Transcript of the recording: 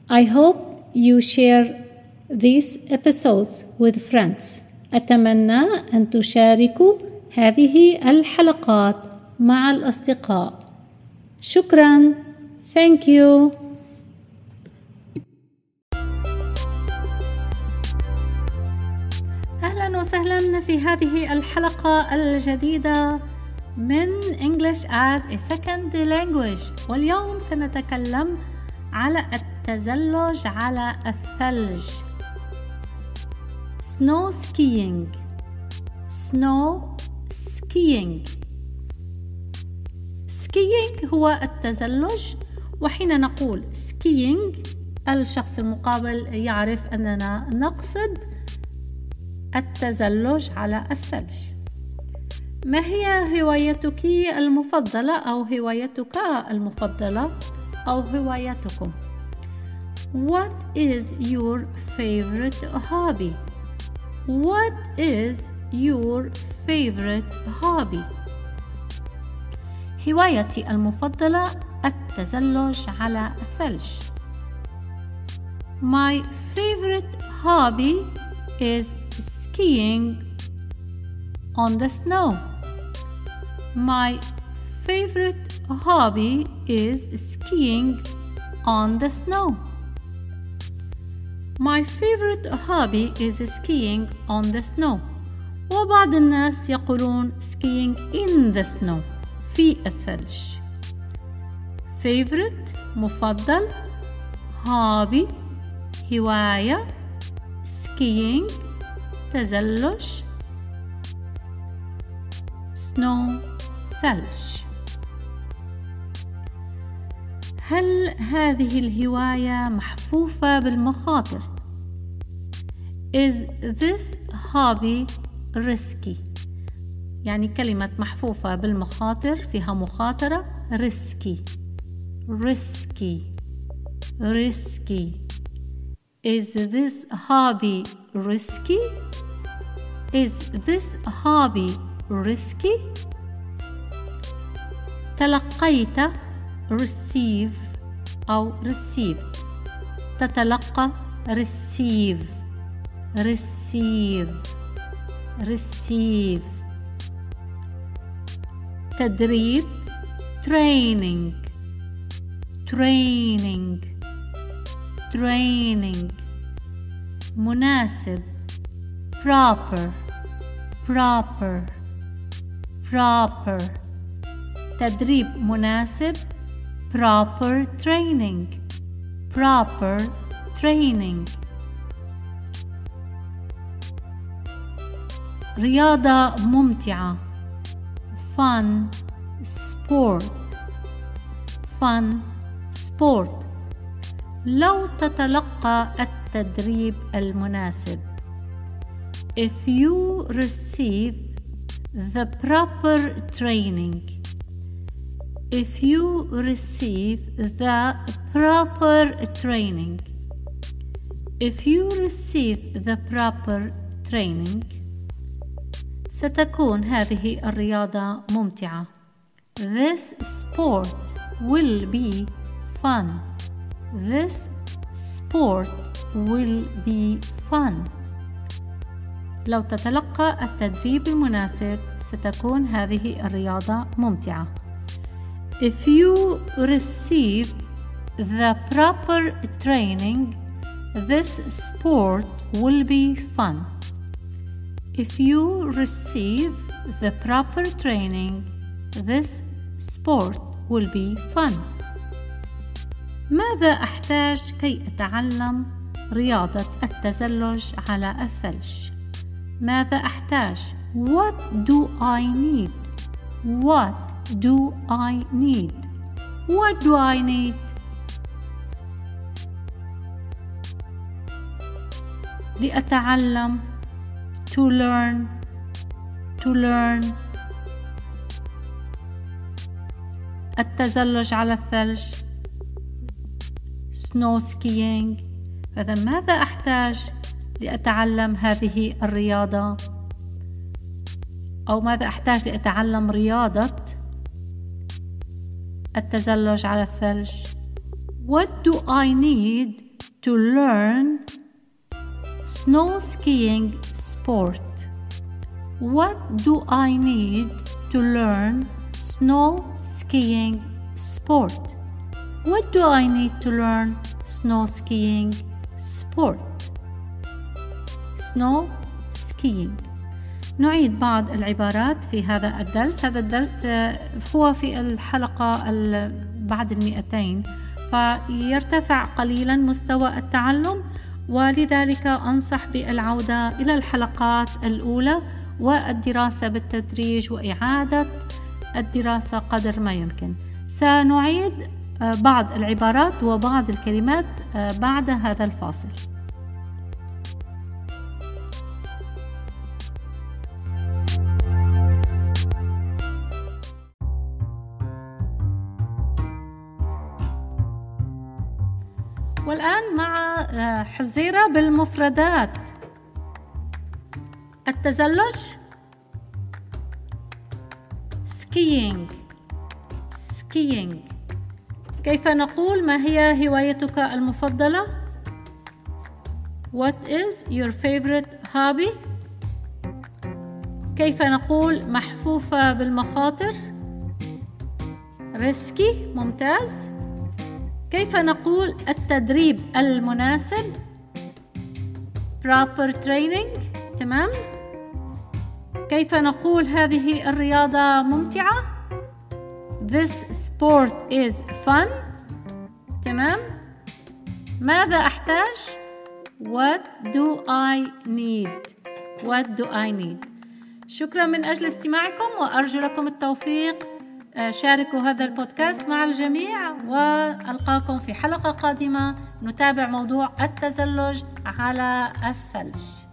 I hope you share these episodes with friends. أتمنى أن تشاركوا هذه الحلقات مع الأصدقاء. شكراً. Thank you. أهلاً وسهلاً في هذه الحلقة الجديدة من English as a Second Language. واليوم سنتكلم على التزلج على الثلج. Snow skiing. Snow skiing. Skiing هو التزلج، وحين نقول skiing الشخص المقابل يعرف أننا نقصد التزلج على الثلج. ما هي هوايتك المفضلة أو هوايتك المفضلة أو هوايتكم؟ What is your favorite hobby? What is your favorite hobby? هوايتي المفضلة التزلج على الثلج. My favorite hobby is skiing on the snow. My favorite hobby is skiing on the snow. My favorite hobby is skiing on the snow. وبعض الناس يقولون skiing in the snow، في الثلج. favorite مفضل، hobby هواية، skiing تزلج، snow ثلج. هل هذه الهواية محفوفة بالمخاطر؟ Is this hobby risky؟ يعني كلمة محفوفة بالمخاطر فيها مخاطرة. risky risky risky. Is this hobby risky? Is this hobby risky? تلقيت receive أو received. تتلقى receive receive receive. تدريب training training training. مناسب proper proper proper. تدريب مناسب proper training proper training. رياضة ممتعة fun sport fun sport. لو تتلقى التدريب المناسب. If you receive the proper training. If you receive the proper training. If you receive the proper training. ستكون هذه الرياضة ممتعة. This sport will be fun. This sport will be fun. لو تتلقى التدريب المناسب ستكون هذه الرياضة ممتعة. If you receive the proper training, this sport will be fun. If you receive the proper training, this sport will be fun. ماذا أحتاج كي أتعلم رياضة التزلج على الثلج؟ ماذا أحتاج؟ What do I need? What do I need? What do I need? لأتعلم to learn to learn. التزلج على الثلج snow skiing. فإذا ماذا أحتاج لأتعلم هذه الرياضة؟ أو ماذا أحتاج لأتعلم رياضة التزلج على الثلج؟ What do I need to learn snow skiing sport? What do I need to learn snow skiing sport? What do I need to learn snow skiing sport? snow skiing. نعيد بعض العبارات في هذا الدرس. هذا الدرس هو في الحلقة بعد 200، فيرتفع قليلا مستوى التعلم، ولذلك أنصح بالعودة إلى الحلقات الأولى والدراسة بالتدريج وإعادة الدراسة قدر ما يمكن. سنعيد بعض العبارات وبعض الكلمات بعد هذا الفاصل. والآن مع حزيرة بالمفردات. التزلج skiing. كيف نقول ما هي هوايتك المفضلة؟ What is your favorite hobby؟ كيف نقول محفوفة بالمخاطر؟ risky. ممتاز. كيف نقول التدريب المناسب؟ proper training. تمام. كيف نقول هذه الرياضة ممتعة؟ This sport is fun. تمام. ماذا أحتاج؟ What do I need؟ شكرا من أجل استماعكم وأرجو لكم التوفيق. شاركوا هذا البودكاست مع الجميع، وألقاكم في حلقة قادمة نتابع موضوع التزلج على الثلج.